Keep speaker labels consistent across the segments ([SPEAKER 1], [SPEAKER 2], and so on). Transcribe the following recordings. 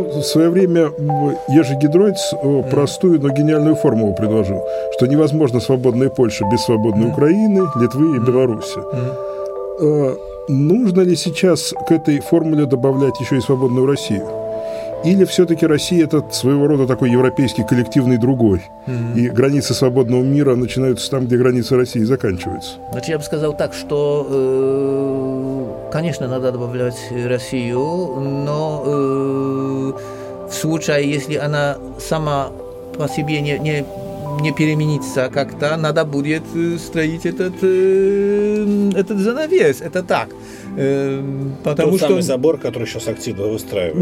[SPEAKER 1] в свое время Ежи Гидройц простую, но гениальную формулу предложил, что невозможно свободная Польша без свободной Украины, Литвы и Беларуси. Нужно ли сейчас к этой формуле добавлять еще и свободную Россию? Или все-таки Россия – это своего рода такой европейский коллективный другой, и границы свободного мира начинаются там, где границы России заканчиваются?
[SPEAKER 2] Значит, я бы сказал так, что, конечно, надо добавлять Россию, но в случае, если она сама по себе не переменится как-то, надо будет строить этот занавес, это так. Потому
[SPEAKER 3] тот
[SPEAKER 2] что
[SPEAKER 3] самый забор, который сейчас активно выстраивается.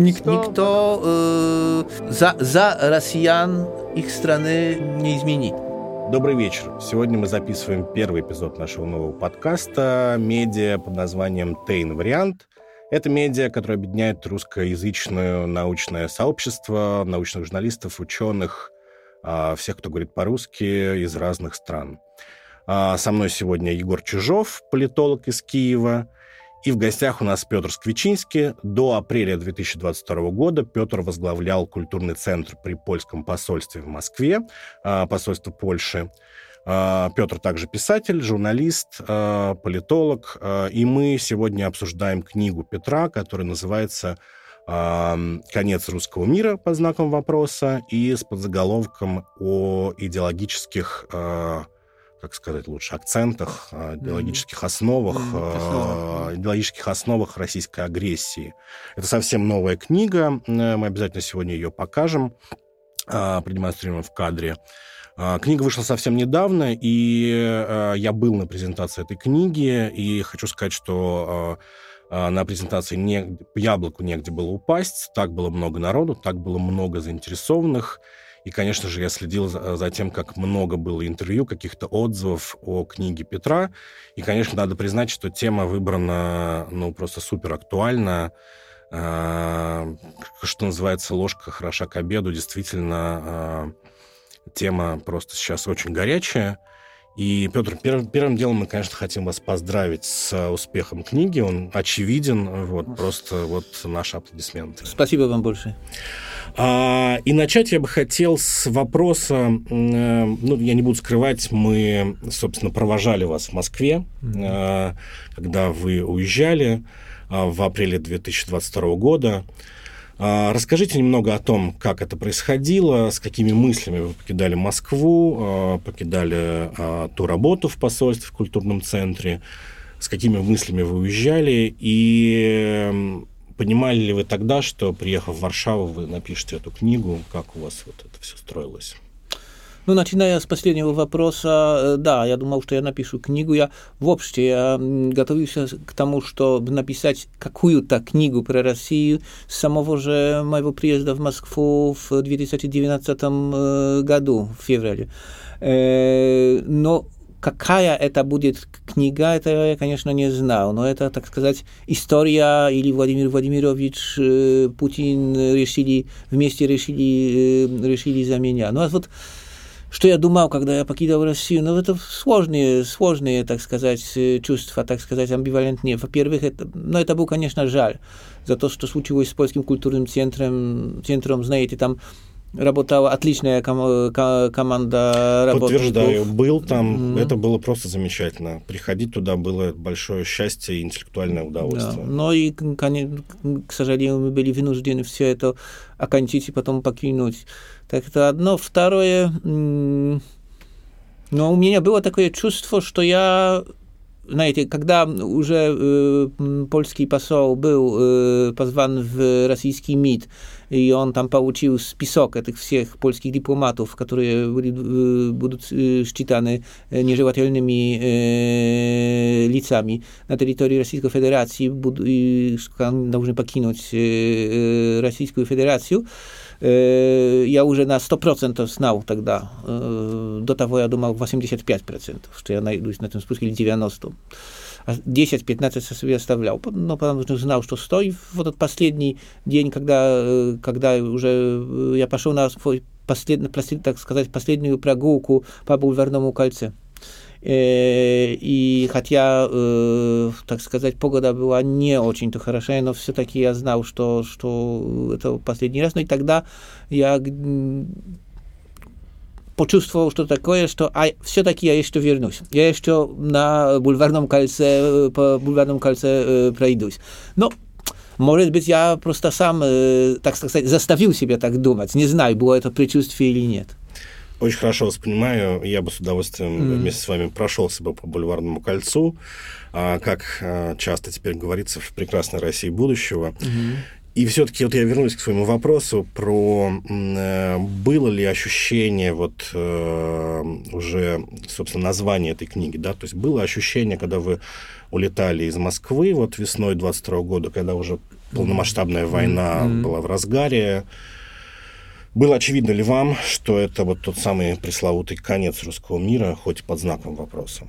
[SPEAKER 2] Никто за россиян их страны не изменит.
[SPEAKER 3] Добрый вечер. Сегодня мы записываем первый эпизод нашего нового подкаста «Медиа» под названием «Тейн Вариант». Это медиа, которое объединяет русскоязычное научное сообщество, научных журналистов, ученых, всех, кто говорит по-русски, из разных стран. Со мной сегодня Егор Чижов, политолог из Киева. И в гостях у нас Петр Сквичинский. До апреля 2022 года Петр возглавлял культурный центр при польском посольстве в Москве, посольство Польши. Петр также писатель, журналист, политолог. И мы сегодня обсуждаем книгу Петра, которая называется «Конец русского мира» под знаком вопроса и с подзаголовком о идеологических, как сказать лучше, акцентах, идеологических основах российской агрессии. Это совсем новая книга. Мы обязательно сегодня ее покажем, продемонстрируем в кадре. Книга вышла совсем недавно, и я был на презентации этой книги, и хочу сказать, что на презентации яблоку негде было упасть, так было много народу, так было много заинтересованных. И, конечно же, я следил за тем, как много было интервью, каких-то отзывов о книге Петра. И, конечно, надо признать, что тема выбрана, просто супер актуальна. Что называется, ложка хороша к обеду. Действительно, тема просто сейчас очень горячая. И, Петр, первым делом мы, конечно, хотим вас поздравить с успехом книги. Он очевиден. Просто наши аплодисменты.
[SPEAKER 2] Спасибо вам большое.
[SPEAKER 3] И начать я бы хотел с вопроса, я не буду скрывать, мы, собственно, провожали вас в Москве, когда вы уезжали в апреле 2022 года. Расскажите немного о том, как это происходило, с какими мыслями вы покидали Москву, покидали ту работу в посольстве, в культурном центре, с какими мыслями вы уезжали, и понимали ли вы тогда, что, приехав в Варшаву, вы напишете эту книгу, как у вас это все строилось?
[SPEAKER 2] Начиная с последнего вопроса, да, я думал, что я напишу книгу. Я готовился к тому, чтобы написать какую-то книгу про Россию с самого же моего приезда в Москву в 2019 году, в феврале. Но какая это будет книга, это я, конечно, не знал. Но это, так сказать, история или Владимир Владимирович, Путин вместе решили за меня. Что я думал, когда я покидал Россию? Это сложные, так сказать, чувства, так сказать, амбивалентные. Во-первых, это был, конечно, жаль за то, что случилось с польским культурным центром, знаете, там работала отличная команда.
[SPEAKER 3] Подтверждаю, был там, это было просто замечательно. Приходить туда было большое счастье и интеллектуальное удовольствие.
[SPEAKER 2] Да. Но и, к сожалению, мы были вынуждены все это окончить и потом покинуть. Так это одно. Второе, у меня было такое чувство, что я, знаете, когда уже польский посол был позван в российский МИД, и он там получил список этих всех польских дипломатов, которые будут считаны нежелательными лицами на территории Российской Федерации, и должны покинуть Российскую Федерацию, я уже на 100% знал тогда. До того я думал 85%, что я найдусь на этом списке, или 90%. А 10-15 себе оставлял. Но потому что знал, что стою. В этот последний день, когда уже я пошел на свой последнюю прогулку по Бульварному кольцу. И хотя, так сказать, погода была не очень-то хорошая, но все-таки я знал, что это последний раз. Ну и тогда я почувствовал, что такое, что все-таки я еще вернусь. Я еще по Бульварном кольце пройдусь. Но, может быть, я просто сам, так сказать, заставил себя так думать. Не знаю, было это предчувствие или нет.
[SPEAKER 3] Очень хорошо вас понимаю. Я бы с удовольствием вместе с вами прошелся бы по Бульварному кольцу, как часто теперь говорится, в прекрасной России будущего. И все-таки вот я вернусь к своему вопросу про было ли ощущение вот уже, собственно, название этой книги, да, то есть было ощущение, когда вы улетали из Москвы вот весной 22 года, когда уже полномасштабная война была в разгаре. Было очевидно ли вам, что это вот тот самый пресловутый конец русского мира, хоть под знаком вопроса?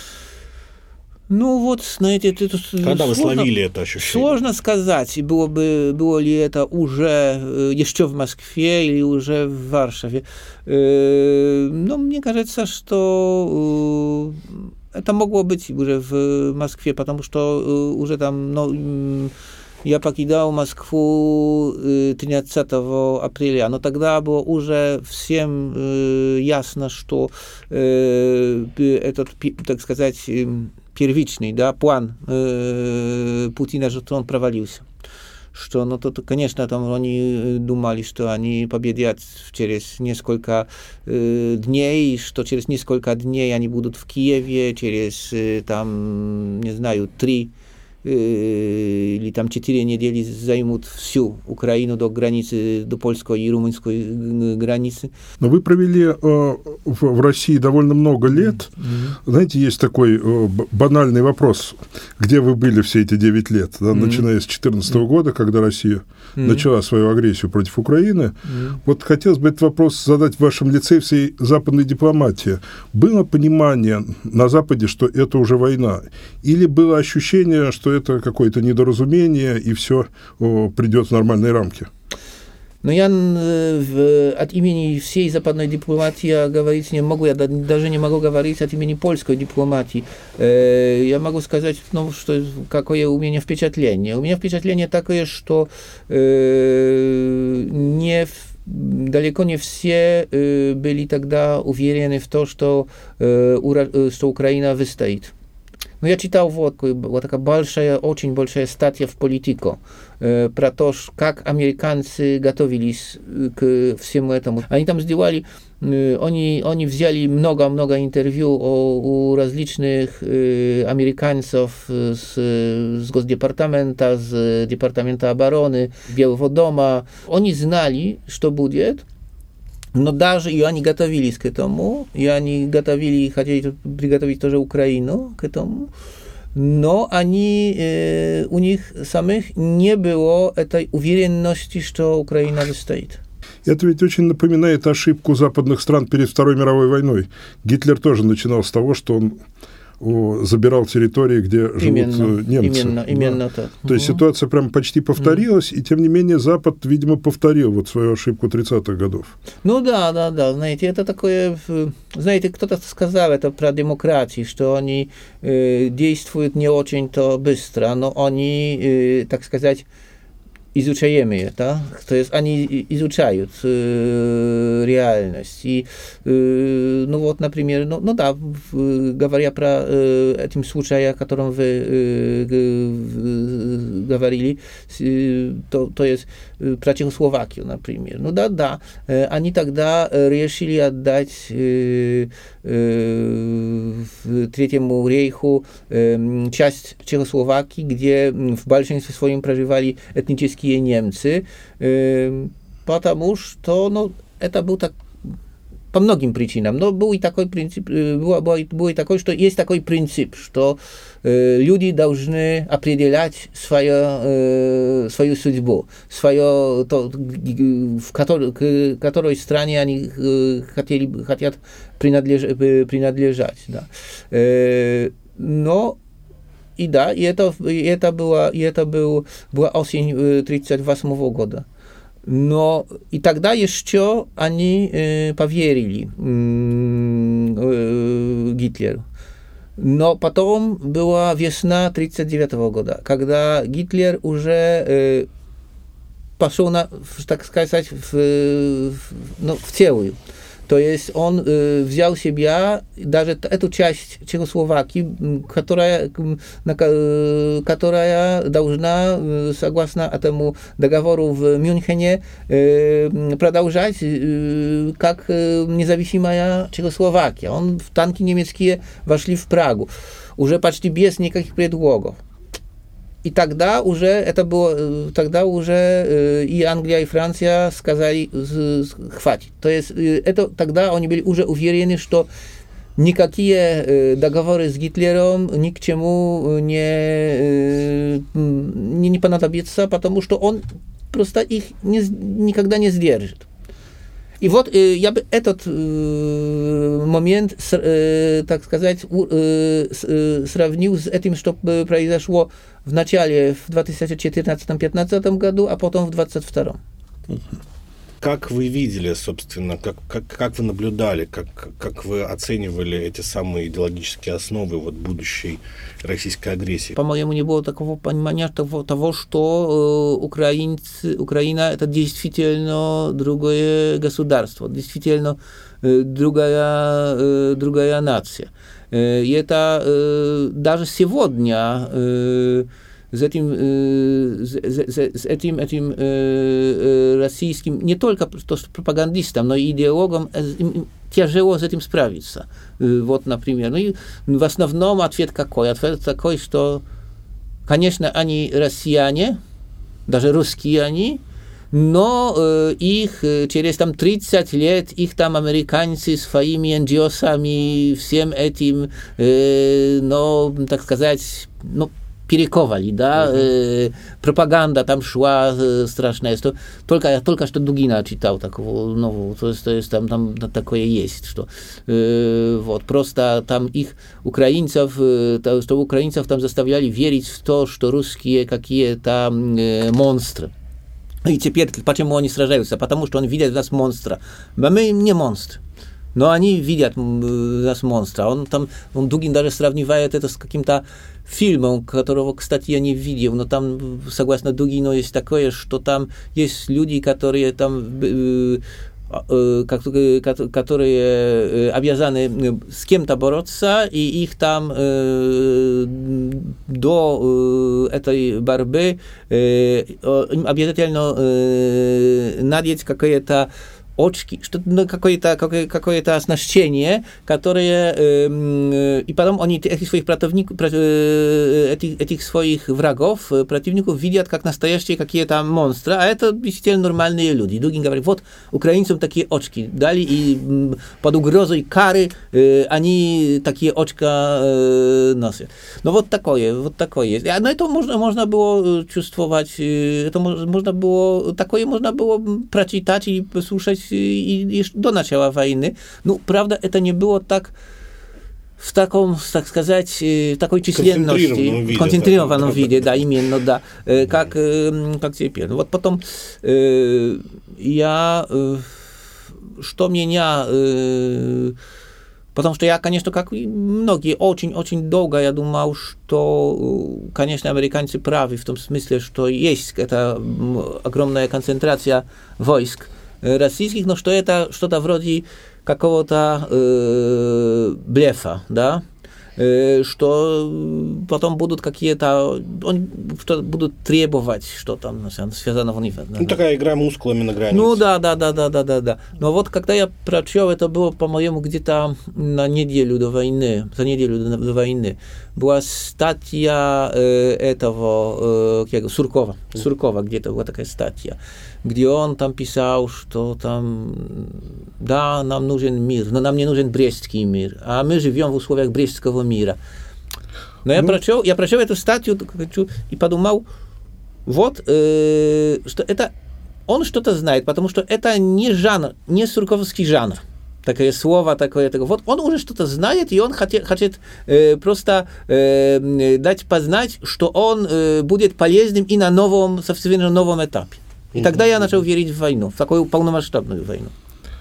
[SPEAKER 2] Ну вот, знаете, это
[SPEAKER 3] когда вы словили это ощущение?
[SPEAKER 2] Сложно сказать, было ли это уже еще в Москве или уже в Варшаве. Но мне кажется, что это могло быть уже в Москве, потому что уже там, я покидал Москву 13 апреля, но тогда было уже всем ясно, что этот, так сказать, первичный, да, план Путина, что он провалился. Что, конечно, там они думали, что они победят через несколько дней, что через несколько дней они будут в Киеве, через, там, не знаю, 3 или там 4 недели займут всю Украину до границы, до польской и румынской границы.
[SPEAKER 1] Но вы провели в России довольно много лет. Знаете, есть такой банальный вопрос. Где вы были все эти 9 лет? Да, начиная с 2014 года, когда Россия начала свою агрессию против Украины. Вот хотелось бы этот вопрос задать в вашем лице всей западной дипломатии. Было понимание на Западе, что это уже война? Или было ощущение, что это какое-то недоразумение, и все придет в нормальные рамки?
[SPEAKER 2] Но я от имени всей западной дипломатии говорить не могу, я даже не могу говорить от имени польской дипломатии. Я могу сказать, что какое у меня впечатление. У меня впечатление такое, что далеко не все были тогда уверены в том, что Украина выстоит. Но я читал была такая большая, очень большая статья в Politico про то, как американцы готовились к всему этому. Они там сделали, они взяли много интервью у различных американцев с Госдепартамента, с Департамента обороны, Белого дома. Они знали, что будет. Но даже и они готовились к этому, и они хотели приготовить тоже Украину к этому, но у них самих не было этой уверенности, что Украина выстоит.
[SPEAKER 1] Это ведь очень напоминает ошибку западных стран перед Второй мировой войной. Гитлер тоже начинал с того, что он забирал территории, где живут немцы.
[SPEAKER 2] Именно так.
[SPEAKER 1] То есть ситуация прям почти повторилась, и тем не менее Запад, видимо, повторил вот свою ошибку 30-х годов.
[SPEAKER 2] Ну да, знаете, это такое, знаете, кто-то сказал это про демократию, что они действуют не очень-то быстро, но они, так сказать, изучаем это, то есть они изучают реальность. И, например, говоря про этим случае, о котором вы говорили, то есть про Чехословакию, например. Они тогда решили отдать Третьему рейху часть Чехословакии, где в большинстве своем проживали этнические немцы, потому что это был так по многим причинам, но был и такой принцип, было и такое, что есть такой принцип, что люди должны определять свою судьбу, в которой стране они хотят принадлежать. Да. Это была осень 1938 года. Но и тогда еще они поверили Гитлеру. Но потом была весна 1939 года, когда Гитлер уже пошел, так сказать, в целую. То есть он взял себя, даже эту часть Чехословакии, которая должна, согласно этому договору в Мюнхене, продолжать как независимая Чехословакия. В танки немецкие вошли в Прагу, уже почти без никаких предлогов. И тогда уже и Англия, и Франция сказали, хватит. То есть тогда они были уже уверены, что никакие договоры с Гитлером ни к чему не понадобятся, потому что он просто их никогда не сдержит. И вот я бы этот момент, так сказать, сравнил с этим, что произошло в начале, в 2014-2015 году, а потом в 2022.
[SPEAKER 3] Как вы видели, собственно, как вы наблюдали, как вы оценивали эти самые идеологические основы будущей российской агрессии?
[SPEAKER 2] По-моему, не было такого понимания того, что Украина это действительно другое государство, действительно другая нация. И это даже сегодня с этим российским, не только пропагандистам, но и идеологам тяжело с этим справиться. Вот, например. Ну и в основном ответ какой? Ответ такой, что, конечно, они россияне, даже русские они, но их через 30 лет, их американцы своими NGO-сами, всем этим, так сказать, перековали, да, пропаганда там шла страшная, что только что Дугина читал такого нового, то есть там такое есть, что вот, просто там их украинцев, что украинцев там заставляли верить в то, что русские какие-то монстры. И теперь, почему они сражаются? Потому что они видят в нас монстра. А мы не монстры. Но они видят нас монстра. Дугин даже сравнивает это с каким-то фильмом, которого, кстати, я не видел, но там, согласно Дугину, есть такое, что там есть люди, которые которые обязаны с кем-то бороться, и их там до этой борьбы обязательно надеть какое-то очки, какое-то оснащение, которое и потом они этих своих противников, этих своих врагов, противников видят как настоящие какие-то монстры, а это действительно нормальные люди. Дугин говорит, вот украинцам такие очки дали, и под угрозой кары они такие очка носят. Но вот такое есть. Но это можно было чувствовать, такое можно было прочитать и послушать и до начала войны. Ну, правда, это не было так в таком, так сказать, такой численности, концентрированном виде, да, именно, да, как теперь. Вот потом потому что я, конечно, как и многие, очень-очень долго я думал, что, конечно, американцы правы в том смысле, что есть эта огромная концентрация войск российских, но что это что-то вроде какого-то блефа, да, что потом будут какие-то, будут требовать, что там связано в них.
[SPEAKER 3] Ну, такая игра мускулами на границе.
[SPEAKER 2] Ну, да. Но вот когда я прочел, это было, по-моему, где-то за неделю до войны, была статья этого Суркова, где-то была такая статья, где он там писал, что там, да, нам нужен мир, но нам не нужен Брестский мир, а мы живем в условиях Брестского мира. Но я прочел эту статью и подумал, вот, что это, он что-то знает, потому что это не жанр, не сурковский жанр. Такое слово, такое. Вот он уже что-то знает, и он хочет просто дать познать, что он будет полезным и на совершенно новом этапе. И тогда я начал верить в войну, в такую полномасштабную войну.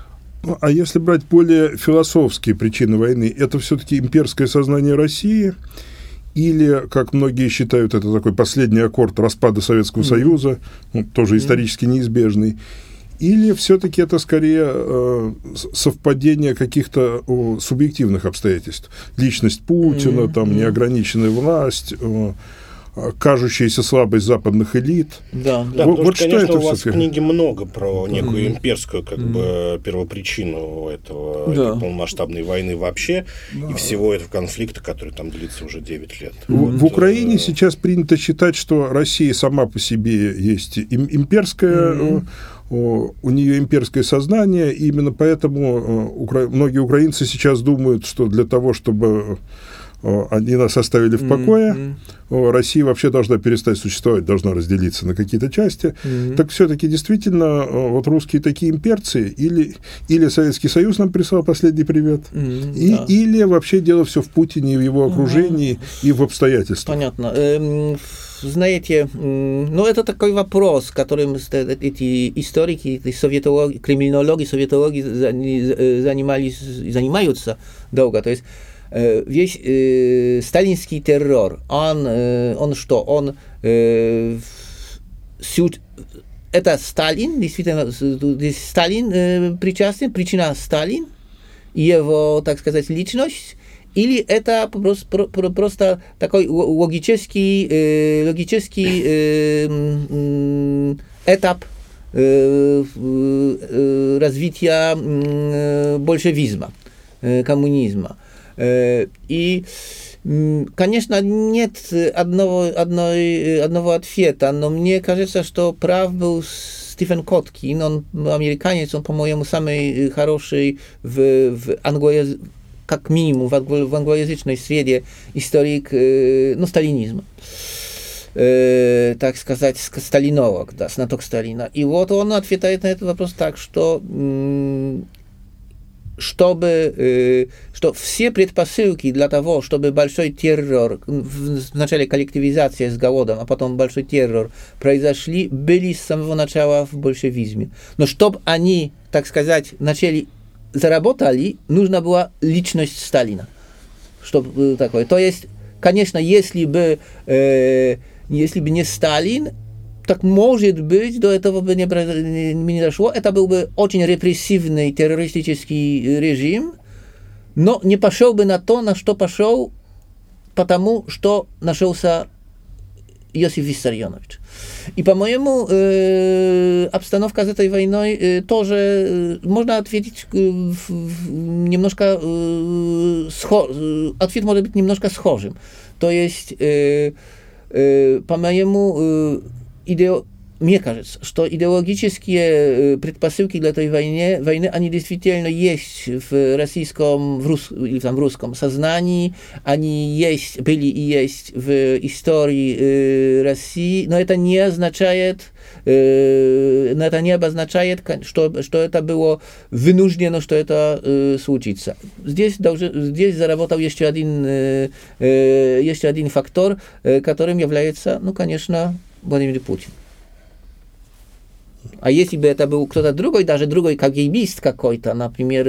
[SPEAKER 1] Ну, а если брать более философские причины войны, это все-таки имперское сознание России или, как многие считают, это такой последний аккорд распада Советского Союза, тоже исторически неизбежный, или все-таки это скорее совпадение каких-то субъективных обстоятельств? Личность Путина, там, неограниченная власть, кажущаяся слабость западных элит.
[SPEAKER 3] Да, потому что, конечно, у вас в книге много про некую имперскую первопричину этой полномасштабной войны вообще и всего этого конфликта, который там длится уже 9 лет.
[SPEAKER 1] В Украине сейчас принято считать, что Россия сама по себе есть имперская, у нее имперское сознание, и именно поэтому многие украинцы сейчас думают, что для того, чтобы они нас оставили в покое, Россия вообще должна перестать существовать, должна разделиться на какие-то части. Так все-таки действительно вот русские такие имперцы, или Советский Союз нам прислал последний привет, или вообще дело все в Путине, в его окружении и в обстоятельствах.
[SPEAKER 2] Понятно. Знаете, ну это такой вопрос, которым эти историки, эти криминологи, советологи занимаются долго. То есть весь сталинский террор, он что? Это Сталин, действительно, Сталин причастен, причина Сталин, его, так сказать, личность, или это просто такой логический этап развития большевизма, коммунизма. И, конечно, нет одного ответа, но мне кажется, что прав был Стивен Коткин, он американец, он, по-моему, самый хороший как минимум в англоязычной среде историк, сталинизма. Так сказать, сталинолог, да, знаток Сталина. И вот он отвечает на этот вопрос так, что что все предпосылки для того, чтобы большой террор, вначале коллективизация с голодом, а потом большой террор произошли, были с самого начала в большевизме. Но чтобы они, так сказать, заработали, нужна была личность Сталина. Чтобы такое. То есть, конечно, если бы не Сталин, так, может быть, до этого бы не дошло. Это был бы очень репрессивный террористический режим, но не пошел бы на то, на что пошел, потому что нашелся Иосиф Виссарионович. И, по-моему, обстановка с этой войной тоже можно ответить немножко ответ может быть немножко схожим. То есть, по-моему, мне кажется, что идеологические предпосылки для этой войны, они действительно есть в российском, в русском сознании, они были и есть в истории России, но это не обозначает, что это было вынуждено, что это случится. Здесь заработал еще один фактор, которым является, конечно, Владимир Путин. А если бы это был кто-то другой, даже другой КГБист какой-то, например,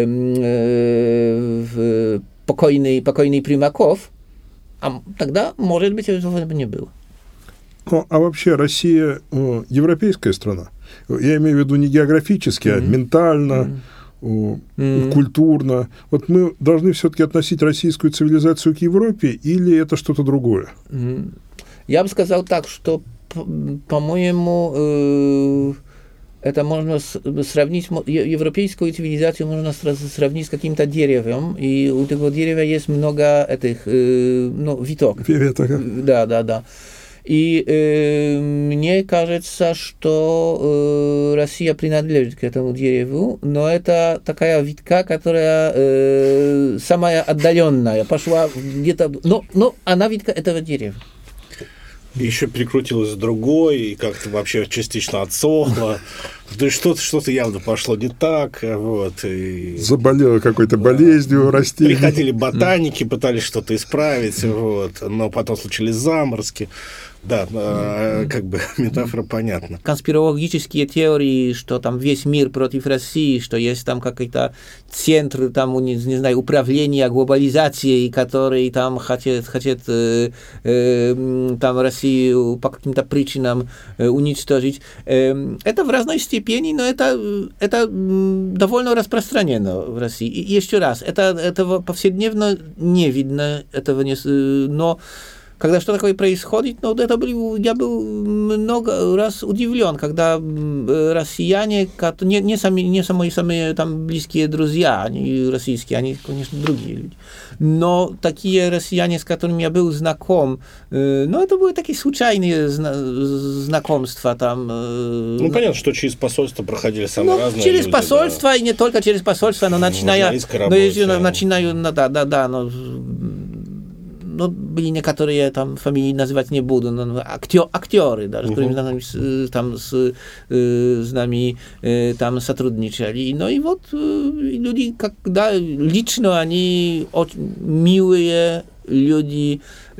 [SPEAKER 2] покойный Примаков, тогда, может быть, этого не было.
[SPEAKER 1] А вообще Россия европейская страна? Я имею в виду не географически, а ментально, культурно. Вот мы должны все-таки относить российскую цивилизацию к Европе, или это что-то другое?
[SPEAKER 2] Я бы сказал так, что, по-моему, это можно сравнить, европейскую цивилизацию можно сравнить с каким-то деревом, и у этого дерева есть много этих веток. Да. И мне кажется, что Россия принадлежит к этому дереву, но это такая ветка, которая самая отдаленная, пошла где-то, но она ветка этого дерева.
[SPEAKER 3] И еще перекрутилась другой, и как-то вообще частично отсохла. То есть что-то явно пошло не так, вот. И...
[SPEAKER 1] Заболело какой-то болезнью растений.
[SPEAKER 3] Приходили ботаники, пытались что-то исправить, вот, но потом случились заморозки. Да, как бы метафора понятна.
[SPEAKER 2] Конспирологические теории, что там весь мир против России, что есть там какой-то центр, там, не знаю, управления глобализацией, который там хотят там Россию по каким-то причинам уничтожить. Это в разной степени, но это довольно распространено в России. И еще раз, этого повседневно не видно, этого не, но когда что такое происходит, ну, я был много раз удивлен, когда россияне, не самые там близкие друзья, они российские, они, конечно, другие люди, но такие россияне, с которыми я был знаком, ну, это были такие случайные знакомства там.
[SPEAKER 3] Ну, понятно, что через посольство проходили самые разные
[SPEAKER 2] через
[SPEAKER 3] люди,
[SPEAKER 2] посольство,
[SPEAKER 3] да.
[SPEAKER 2] И не только через посольство, но начиная, ну, были некоторые там фамилии называть не буду, но актеры даже, которые там с нами там сотрудничали. Ну и вот люди, когда лично они очень милые люди,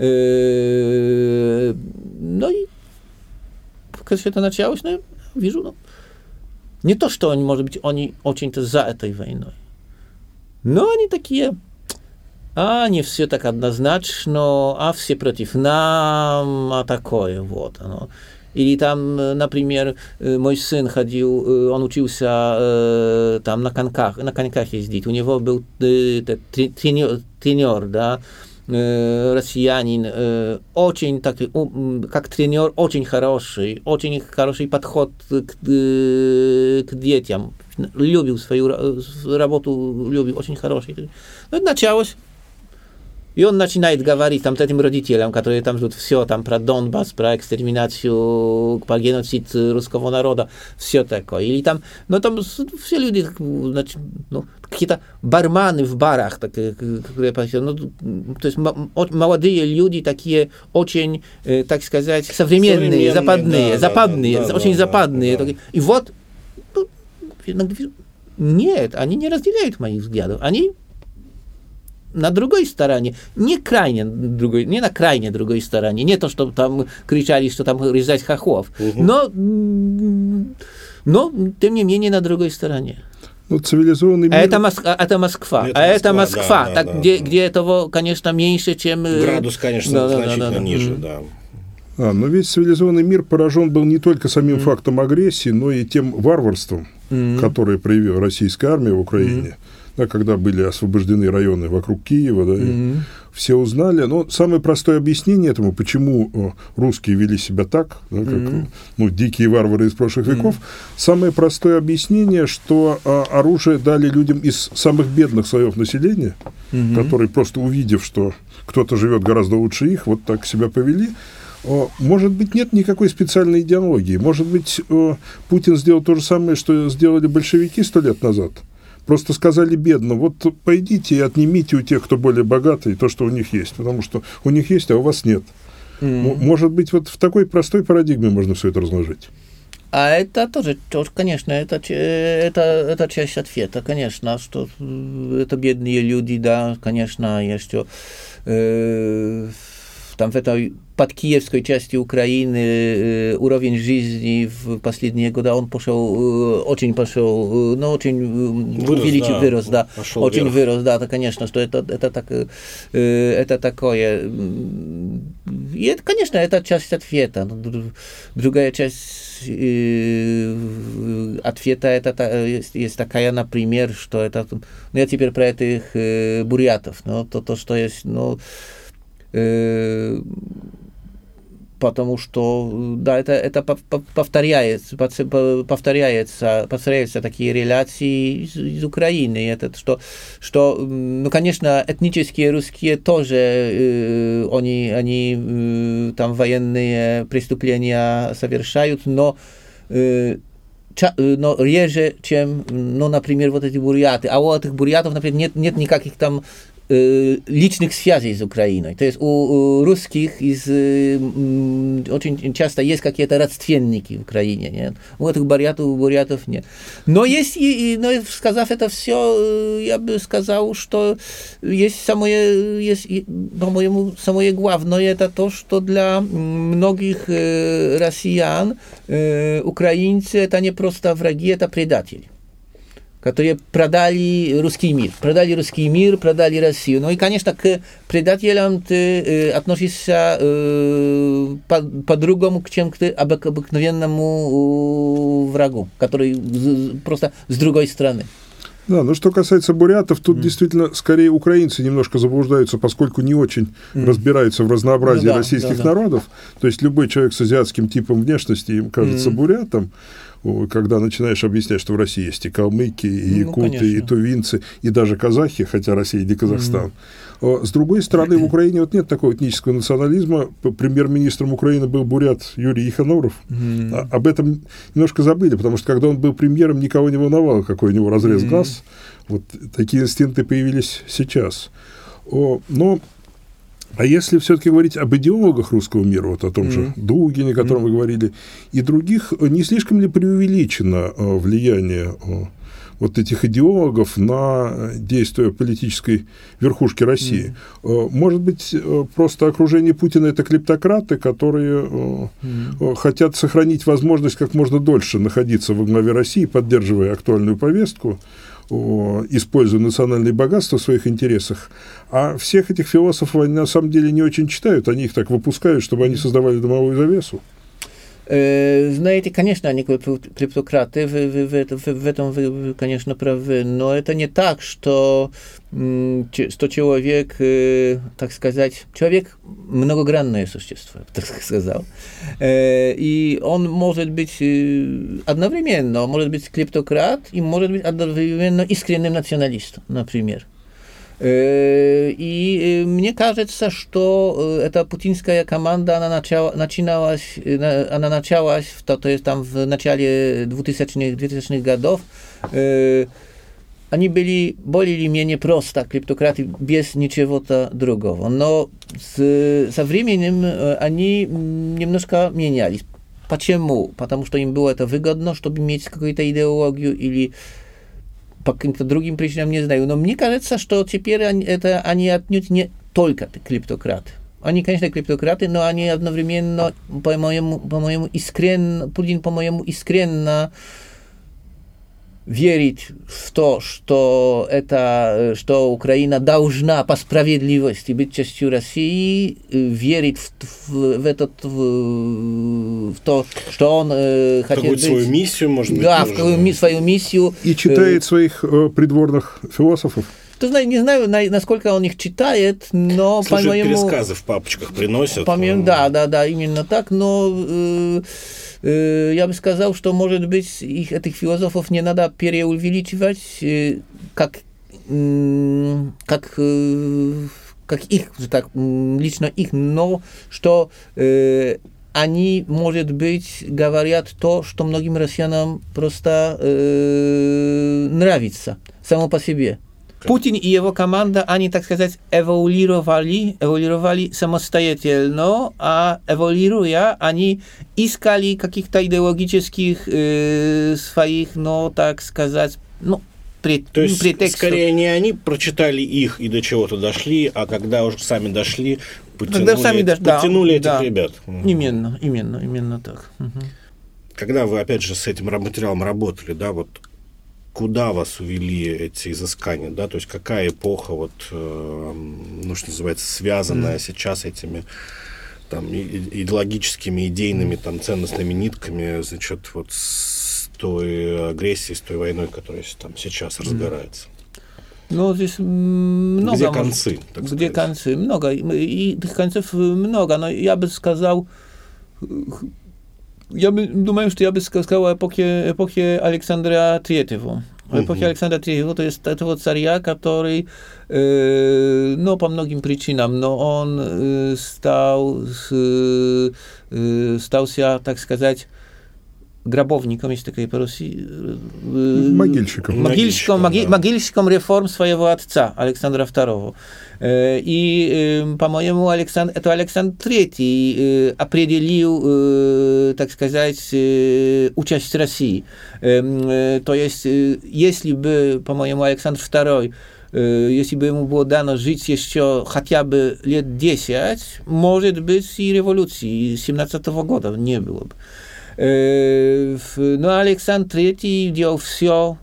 [SPEAKER 2] ну и как все это началось, ну, я вижу, ну, не то, что они, может быть, они очень-то за этой войной, но они такие... не все так однозначно, все против нас, такое вот оно. Или там, например, мой сын ходил, он учился там на коньках ездить. У него был тренер, да, россиянин, очень такой, как тренер, очень хороший подход к детям. Любил свою работу, любил, очень хороший. Ну, это началось. И он начинает говорить там этим родителям, которые там ждут все там про Донбасс, про экстерминацию, про геноцид русского народа, все такое. Или там, ну там все люди, значит, ну, какие-то барманы в барах, такие, ну, то есть молодые люди такие очень, так сказать, современные, западные, очень западные. Да. И вот, ну, нет, они не разделяют моих взглядов, они на другой стороне, не на крайне другой стороне, не то, что там кричали, что там резать хохлов, но тем не менее на другой стороне.
[SPEAKER 1] Ну, цивилизованный мир...
[SPEAKER 2] Это Москва. Это Москва,
[SPEAKER 1] да,
[SPEAKER 2] где этого, конечно, меньше, чем...
[SPEAKER 3] Градус, конечно, значительно ниже, да.
[SPEAKER 1] Но весь цивилизованный мир поражен был не только самим фактом агрессии, но и тем варварством, которое проявила российская армия в Украине. Да, когда были освобождены районы вокруг Киева, да, все узнали. Но самое простое объяснение этому, почему русские вели себя так, да, как ну, дикие варвары из прошлых веков, самое простое объяснение, что оружие дали людям из самых бедных слоев населения, которые просто увидев, что кто-то живет гораздо лучше их, вот так себя повели. Может быть, нет никакой специальной идеологии. Может быть, Путин сделал то же самое, что сделали большевики 100 лет назад. Просто сказали бедно, вот пойдите и отнимите у тех, кто более богатый, то, что у них есть, потому что у них есть, а у вас нет. Может быть, вот в такой простой парадигме можно все это разложить.
[SPEAKER 2] А это тоже, конечно, это часть ответа, конечно, что это бедные люди, да, конечно, еще там в этой подкиевской части Украины уровень жизни в последние годы, он очень вырос, да, очень вырос, да, это, конечно, что это такое. И это, конечно, это часть ответа. Другая часть ответа это есть такая, например, что это, ну, я теперь про этих бурятов, но то, что есть, ну, потому что, да, это повторяется такие реляции из Украины. Это что, ну, конечно, этнические русские тоже, они там военные преступления совершают, но реже, чем, ну, например, вот эти буряты. А у этих бурятов, например, нет никаких там личных связей с Украиной. То есть у русских очень часто есть какие-то родственники в Украине. Нет? У этих бурятов нет. Но есть, сказав это все, я бы сказал, что по-моему, самое главное это то, что для многих россиян украинцы это не просто враги, это предатели, которые продали русский мир, продали Россию. Ну и, конечно, к предателям ты относишься по-другому, чем к обыкновенному врагу, который просто с другой стороны.
[SPEAKER 1] Да, но что касается бурятов, тут действительно скорее украинцы немножко заблуждаются, поскольку не очень разбираются в разнообразии российских народов. То есть любой человек с азиатским типом внешности им кажется бурятом, когда начинаешь объяснять, что в России есть и калмыки, и якуты, и тувинцы, и даже казахи, хотя Россия не Казахстан. С другой стороны, в Украине вот нет такого этнического национализма. Премьер-министром Украины был бурят Юрий Иханоров. Об этом немножко забыли, потому что когда он был премьером, никого не волновало, какой у него разрез глаз. Вот такие инстинкты появились сейчас. Но а если все-таки говорить об идеологах русского мира, вот о том же Дугине, о котором вы говорили, и других, не слишком ли преувеличено влияние вот этих идеологов на действия политической верхушки России? Может быть, просто окружение Путина – это клептократы, которые хотят сохранить возможность как можно дольше находиться во главе России, поддерживая актуальную повестку, используя национальные богатства в своих интересах, а всех этих философов они на самом деле не очень читают, они их так выпускают, чтобы они создавали дымовую завесу.
[SPEAKER 2] Знаете, конечно, они клептократы, в этом вы, конечно, правы, но это не так, что человек, так сказать, человек многогранное существо, так сказал, и он может быть одновременно, может быть клептократ и может быть одновременно искренним националистом, например. И мне кажется, что эта путинская команда, она началась, то есть там в начале 2000-х годов, они были более или менее просто клептократы, без ничего-то другого. Но со временем они немножко менялись. Почему? Потому что им было это выгодно, чтобы иметь какую-то идеологию или по каким-то другим причинам, не знаю. Но мне кажется, что теперь они отнюдь не только клептократы. Они, конечно, клептократы, но они одновременно, по-моему, искренне, Путин, по-моему, искренне верит в то, что Украина должна по справедливости быть частью России, верит в то, что он хотел быть...
[SPEAKER 3] свою миссию, может быть.
[SPEAKER 2] Да, свою миссию.
[SPEAKER 1] И читает своих придворных философов.
[SPEAKER 2] Не знаю, насколько он их читает, но, по-моему...
[SPEAKER 3] пересказы в папочках приносят.
[SPEAKER 2] По-моему, да, именно так, но... я бы сказал, что, может быть, этих философов не надо преувеличивать, как их, так, лично их, но что они, может быть, говорят то, что многим россиянам просто нравится само по себе. Путин и его команда, они, так сказать, эволюировали самостоятельно, а эволюируя, они искали каких-то идеологических своих, так сказать,
[SPEAKER 3] то есть,
[SPEAKER 2] претекстов.
[SPEAKER 3] Скорее, не они прочитали их и до чего-то дошли, а когда уже сами дошли, подтянули этих ребят.
[SPEAKER 2] Именно так.
[SPEAKER 3] Когда вы, опять же, с этим материалом работали, да, вот куда вас увели эти изыскания, да, то есть какая эпоха, что называется, связанная сейчас этими там идеологическими, идейными, там, ценностными нитками, значит, вот с той агрессией, с той войной, которая там сейчас разгорается?
[SPEAKER 2] Здесь много.
[SPEAKER 3] Где концы, так сказать?
[SPEAKER 2] Где концы? Много. И этих концов много, но я бы сказал... думаю, что я бы сказал о эпохе Александра III. Эпохи Александра III, то есть этого царя, который, по многим причинам, но он стался, так сказать, гробовником, есть такое по-русски.
[SPEAKER 1] Могильщиком
[SPEAKER 2] реформ своего отца, Александра II. И, по-моему, это Александр III определил, так сказать, участь России. То есть, если бы, по-моему, Александр II, если бы ему было дано жить еще хотя бы лет 10, может быть, и революции 17 года не было бы. Но Александр III делал все,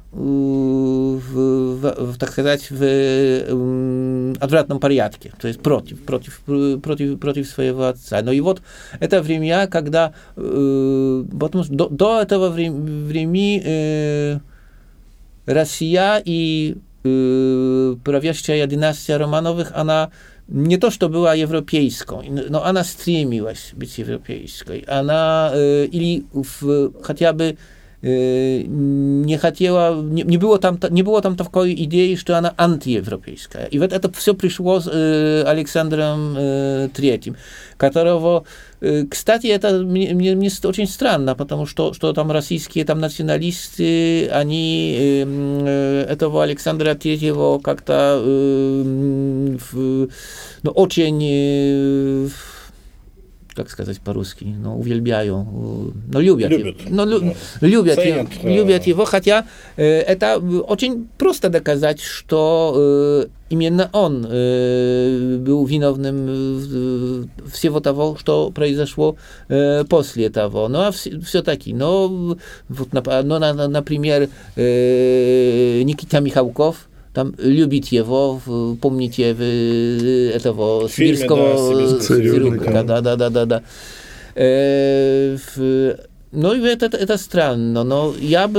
[SPEAKER 2] так сказать, в отвратном порядке, то есть против своего отца. Но и вот это время, когда, потому что до этого времени Россия и правящая династия Романовых, она не то, что была европейской, но она стремилась быть европейской. Она или хотя бы не хотела, не было там такой идеи, что она антиевропейская. И вот это все пришло с Александром III, которого, кстати, это мне очень странно, потому что там российские там националисты, они этого Александра III как-то очень, как сказать по-русски, увельбяю, любят его, хотя это очень просто доказать, что именно он был виновным всего того, что произошло после того. Ну, а все-таки, например, Никита Михалков, там любит его, помните, этого сибирского цирюльника. Да. Ну, и это странно, но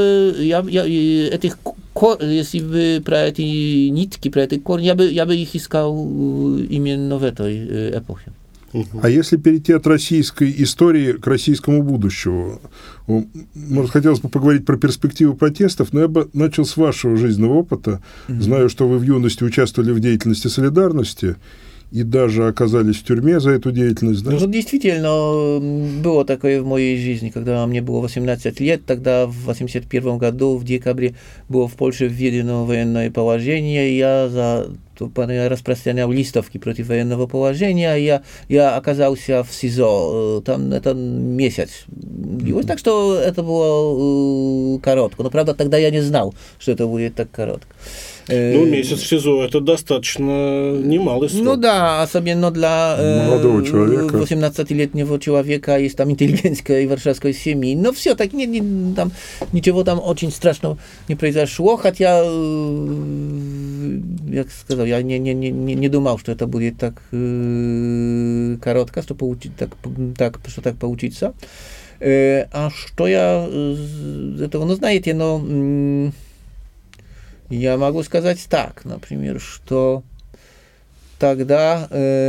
[SPEAKER 2] если бы про эти нитки, про эти корни, я бы их искал именно в этой эпохе.
[SPEAKER 1] А если перейти от российской истории к российскому будущему? Может, хотелось бы поговорить про перспективы протестов, но я бы начал с вашего жизненного опыта. Знаю, что вы в юности участвовали в деятельности «Солидарности» и даже оказались в тюрьме за эту деятельность. Да?
[SPEAKER 2] Ну, действительно, было такое в моей жизни, когда мне было 18 лет, тогда в 1981 году, в декабре, было в Польше введено военное положение, я распространял листовки против военного положения, я оказался в СИЗО, там это месяц длилось, так что это было коротко, но, правда, тогда я не знал, что это будет так коротко.
[SPEAKER 3] Ну, месяц в СИЗО – это достаточно немалый срок.
[SPEAKER 2] Ну да, особенно для
[SPEAKER 1] молодого человека.
[SPEAKER 2] 18-летнего человека из там интеллигентской варшавской семьи. Но все так там ничего там очень страшного не произошло, хотя, як сказал, я не думал, что это будет так коротко, что так получится. А что я из этого, знаете, я могу сказать так, например, что тогда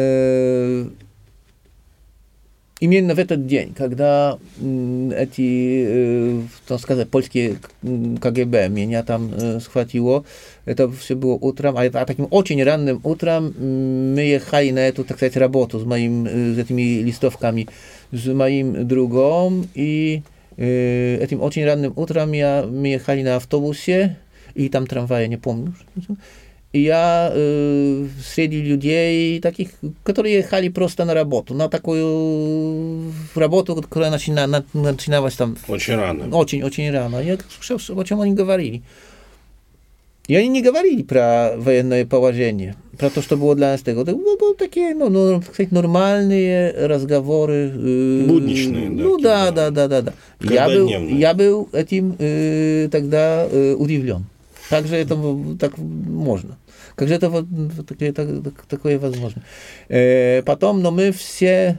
[SPEAKER 2] именно в этот день, когда эти, так сказать, польские КГБ меня там схватило, это все было утром, а таким очень ранним утром мы ехали на эту, так сказать, работу с этими листовками, с моим другом, и этим очень ранним утром мы ехали на автобусе, и там трамвая, не помню. И я среди людей таких, которые ехали просто на работу, на такую работу, которая начиналась там...
[SPEAKER 3] Очень рано.
[SPEAKER 2] Очень рано. Я слушал, о чем они говорили. И они не говорили про военное положение, про то, что было для нас такое. Это были такие, так сказать, нормальные разговоры.
[SPEAKER 3] Будничные, да.
[SPEAKER 2] Да. Я был этим тогда удивлен. Как же это так можно? Как же это такое возможно? Потом, мы все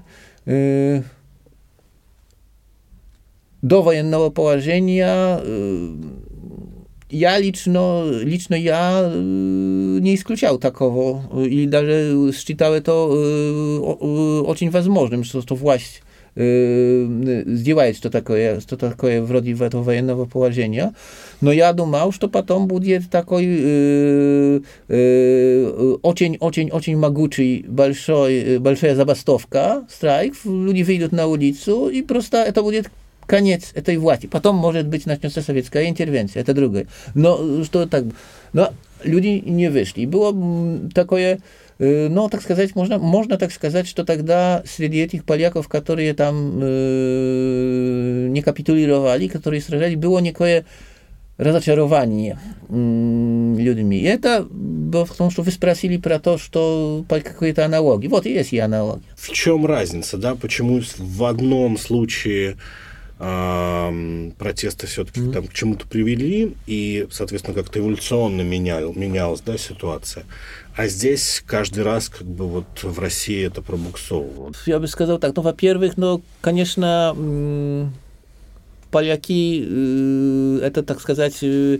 [SPEAKER 2] до военного положения, я лично я не исключал такого и даже считал это очень возможным, что власть сделает что такое вроде этого военного положения, но я думал, что потом будет такой очень могучий, большая забастовка, страйк, люди выйдут на улицу, и просто это будет конец этой власти. Потом, может быть, начнется советская интервенция, это другое. Но что так? Но люди не вышли. И было такое, ну, так сказать, можно так сказать, что тогда среди этих поляков, которые там не капитулировали, которые сражались, было некое разочарование людьми. И это было в том, что вы спросили про то, что по какой-то аналогии. Вот и есть и аналогия.
[SPEAKER 3] В чем разница, да? Почему в одном случае протесты все-таки там к чему-то привели, и, соответственно, как-то эволюционно менялась, да, ситуация. А здесь каждый раз, как бы, вот в России это пробуксовывало.
[SPEAKER 2] Я бы сказал так, ну, во-первых, ну, конечно, поляки, это, так сказать,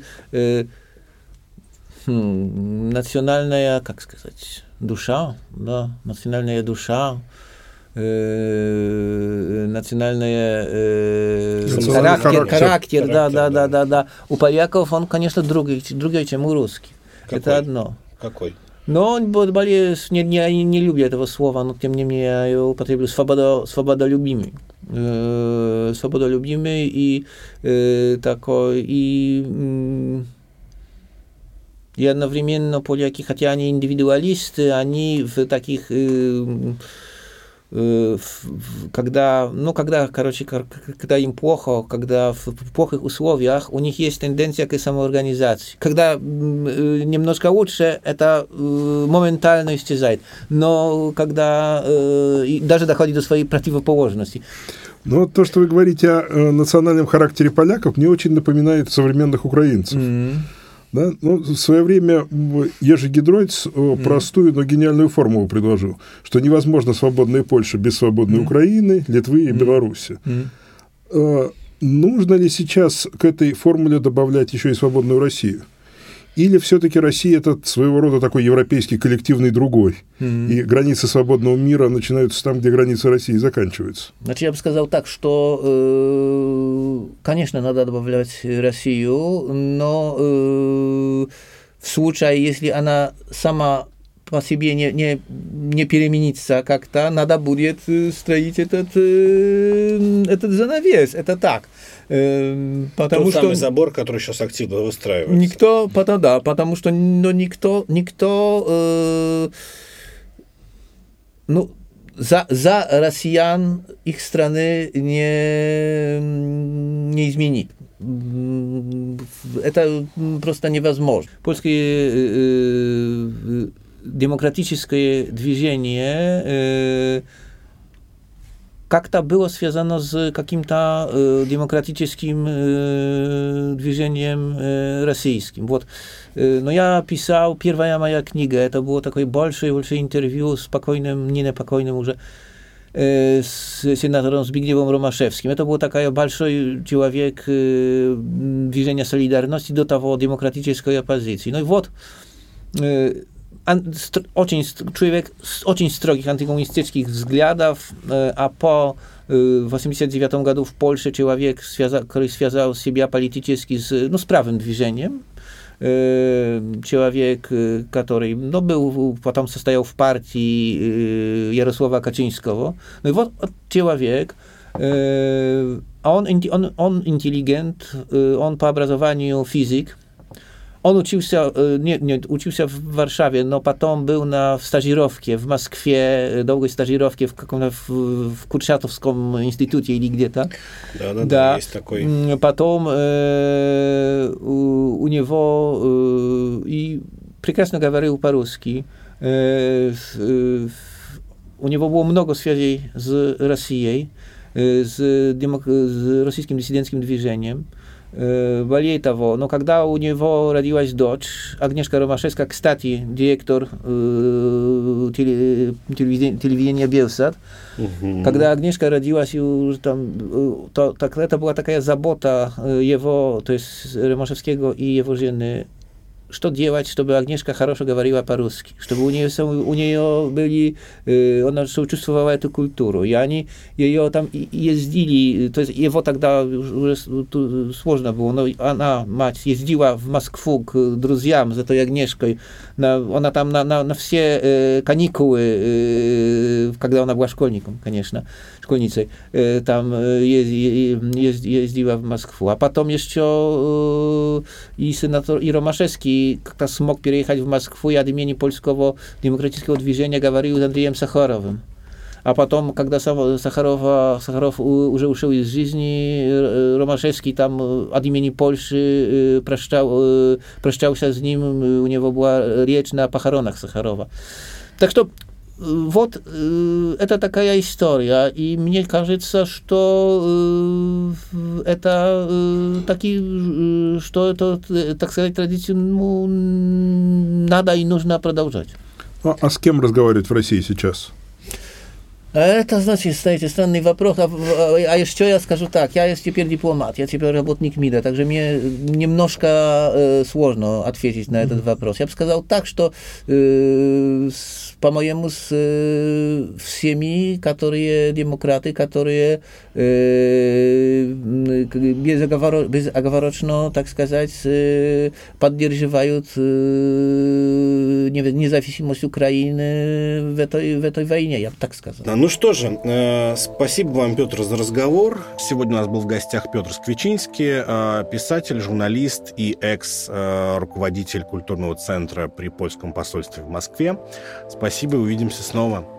[SPEAKER 2] национальная, как сказать, душа, да, национальная душа, характер, да. У поляков он, конечно, другой, чем у русских.
[SPEAKER 3] Какой?
[SPEAKER 2] Это одно.
[SPEAKER 3] Какой?
[SPEAKER 2] Но он более, не люблю этого слова, но тем не менее я его употреблю, свободолюбимый. Свободолюбимый и такой, и одновременно поляки, хотя они индивидуалисты, они в таких когда им плохо, когда в плохих условиях, у них есть тенденция к самоорганизации. Когда немножко лучше, это моментально исчезает. Но когда даже доходит до своей противоположности.
[SPEAKER 1] Но то, что вы говорите о национальном характере поляков, мне очень напоминает современных украинцев. Да? Ну, в свое время Ежи Гидройц простую, но гениальную формулу предложил, что невозможно свободная Польша без свободной Украины, Литвы и Беларуси. Нужно ли сейчас к этой формуле добавлять еще и свободную Россию? Или все-таки Россия – это своего рода такой европейский коллективный другой, и границы свободного мира начинаются там, где границы России заканчиваются?
[SPEAKER 2] Значит, я бы сказал так, что, конечно, надо добавлять Россию, но в случае, если она сама по себе не переменится как-то, надо будет строить этот занавес, это так.
[SPEAKER 3] Потому что самый забор, который сейчас активно выстраивается.
[SPEAKER 2] Потому что никто за россиян их страны не изменит. Это просто невозможно. Польское демократическое движение как-то было связано с каким-то демократическим движением российским. Вот. Но я писал, первая моя книга, это было такое большое интервью с покойным, не непокойным уже, с сенатором Zbigniewem Romaszewskim. Это был такой большой человек движения солидарности до того демократической оппозиции. Ну и вот человек с очень строгих антикоммунистических взглядов, а по 1989 году в Польше человек, который связал себя политически с правым движением, человек, который потом состоял в партии Jarosława Kaczyńskiego. No i вот человек, он интеллигент, он по образованию физик. Он учился, учился в Warszawie, но потом был в стажировке в Москве, долгой стажировке в Курчатовском институте или где-то.
[SPEAKER 3] Да, есть такой.
[SPEAKER 2] Потом у него и прекрасно говорил по-русски. У него было много связей с Россией, с российским диссидентским движением. Более того, но когда у него родилась дочь, Agnieszka Romaszewska, кстати, директор телевидения Белсат, когда Агнешка родилась, это была такая забота его, то есть Ромaszewskiego и его жены, что делать, чтобы Агнешка хорошо говорила по-русски, чтобы у нее были, она чувствовала эту культуру, и они ее там ездили, то есть его тогда уже сложно было, но она, мать, ездила в Москву к друзьям за той Агнешкой, она там на все каникулы, когда она была школьником, конечно, школьницей, там ездила в Москву, а потом еще и сенатор и Ромашевский как-то смог переехать в Москву и от имени польского демократического движения говорил с Андреем Сахаровым. А потом, когда Сахаров уже ушел из жизни, Ромашевский там от имени Польши прощался с ним, у него была речь на похоронах Сахарова. Так что вот это такая история, и мне кажется, что это что это, так сказать, традицию надо и нужно продолжать.
[SPEAKER 1] А с кем разговаривать в России сейчас?
[SPEAKER 2] Это, значит, знаете, странный вопрос. А еще я скажу так, я теперь дипломат, я теперь работник МИДа, также мне немножко сложно ответить на этот вопрос. Я бы сказал так, что, по-моему, с всеми, которые демократы, которые безоговорочно, так сказать, поддерживают независимость Украины в этой войне, я бы так сказал.
[SPEAKER 3] Ну что же, спасибо вам, Петр, за разговор. Сегодня у нас был в гостях Петр Сквичинский, писатель, журналист и экс-руководитель культурного центра при польском посольстве в Москве. Спасибо, увидимся снова.